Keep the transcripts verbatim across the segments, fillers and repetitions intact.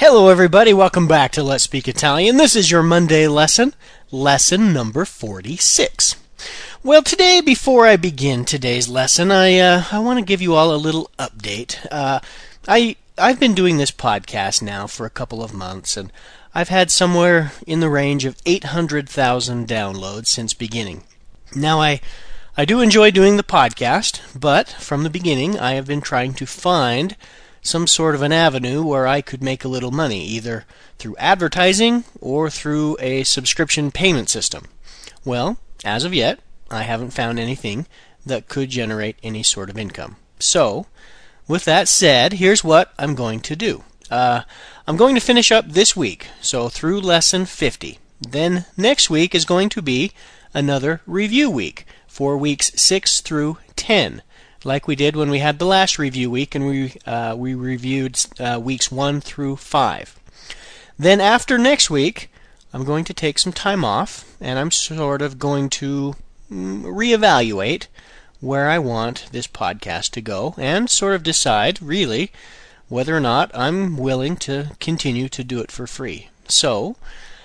Hello everybody, welcome back to Let's Speak Italian. This is your Monday lesson, lesson number forty-six. Well, today, before I begin today's lesson, I uh, I want to give you all a little update. Uh, I, I've been doing this podcast now for a couple of months, and I've had somewhere in the range of eight hundred thousand downloads since beginning. Now, I, I do enjoy doing the podcast, but from the beginning, I have been trying to find some sort of an avenue where I could make a little money, either through advertising or through a subscription payment system. Well, as of yet, I haven't found anything that could generate any sort of income. So, with that said, here's what I'm going to do. Uh, I'm going to finish up this week, so through lesson fifty. Then next week is going to be another review week for weeks six through ten. Like we did when we had the last review week, and we uh, we reviewed uh, weeks one through five. Then after next week, I'm going to take some time off, and I'm sort of going to mm, reevaluate where I want this podcast to go, and sort of decide, really, whether or not I'm willing to continue to do it for free. So,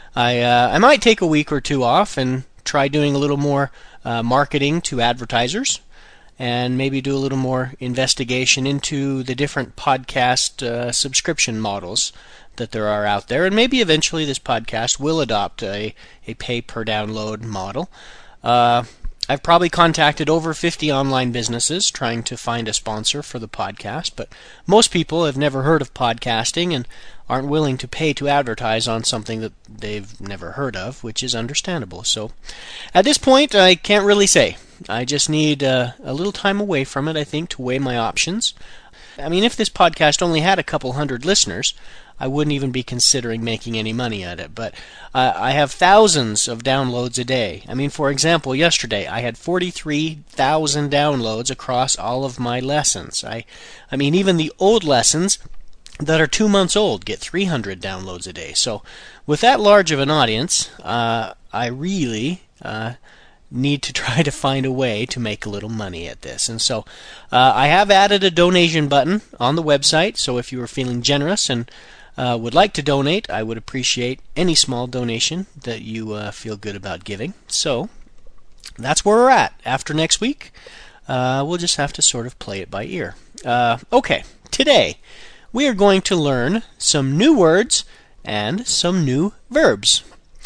I uh, I might take a week or two off and try doing a little more uh, marketing to advertisers, and maybe do a little more investigation into the different podcast uh, subscription models that there are out there. And maybe eventually this podcast will adopt a, a pay-per-download model. Uh, I've probably contacted over fifty online businesses trying to find a sponsor for the podcast, but most people have never heard of podcasting and aren't willing to pay to advertise on something that they've never heard of, which is understandable. So at this point, I can't really say. I just need uh, a little time away from it, I think, to weigh my options. I mean, if this podcast only had a couple hundred listeners, I wouldn't even be considering making any money at it. But uh, I have thousands of downloads a day. I mean, for example, yesterday I had forty-three thousand downloads across all of my lessons. I, I mean, even the old lessons that are two months old get three hundred downloads a day. So with that large of an audience, uh, I really Uh, need to try to find a way to make a little money at this. And so uh, I have added a donation button on the website, so if you are feeling generous and uh, would like to donate, I would appreciate any small donation that you uh, feel good about giving. So that's where we're at. After next week, uh, we'll just have to sort of play it by ear. Uh, okay, today we are going to learn some new words and some new verbs.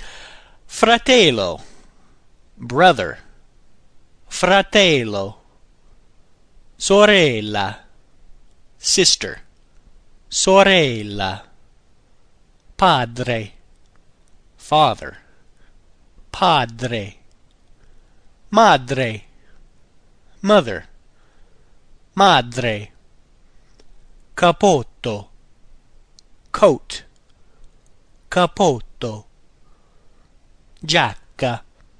Fratello, brother. Fratello. Sorella, sister. Sorella. Padre, father. Padre. Madre, mother. Madre. Capotto, coat. Capotto. Giacca,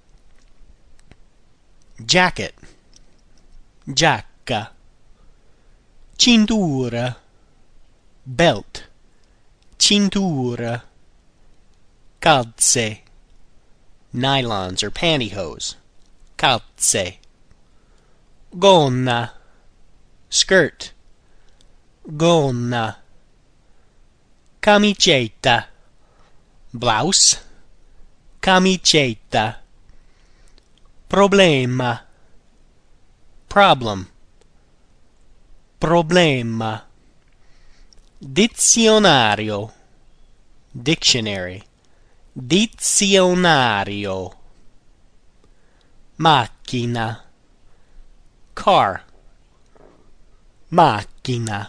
jacket. Giacca. Cintura, belt. Cintura. Calze, nylons or pantyhose. Calze. Gonna, skirt. Gonna. Camicetta, blouse. Camicetta. Problema, problem. Problema. Dizionario, dictionary. Dizionario. Macchina, car. Macchina.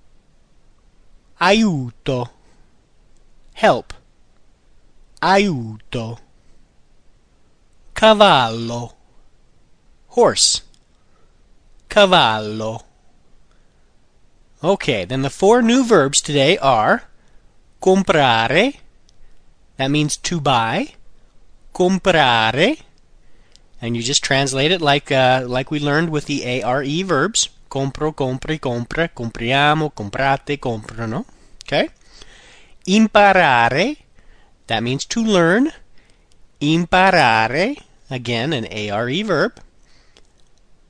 Aiuto, help. Aiuto. Cavallo, horse. Cavallo. Okay, then the four new verbs today are comprare, that means to buy. Comprare, and you just translate it like uh, like we learned with the A R E verbs. Compro, compri, compra, compriamo, comprate, comprano. Okay? Imparare, that means to learn. Imparare, again an A R E verb.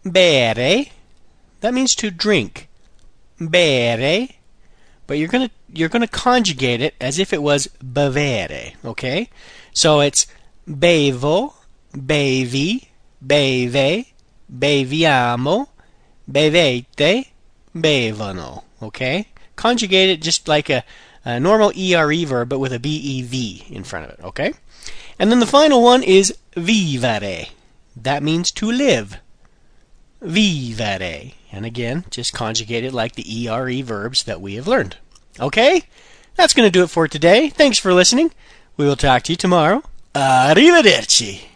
Bere, that means to drink. Bere, but you're gonna you're going to conjugate it as if it was bevere, okay? So it's bevo, bevi, beve, beviamo, bevete, bevono, okay? Conjugate it just like a, a normal E R E verb, but with a B E V in front of it, okay? And then the final one is vivere. That means to live. Vivere. And again, just conjugate it like the E R E verbs that we have learned. Okay? That's going to do it for today. Thanks for listening. We will talk to you tomorrow. Arrivederci.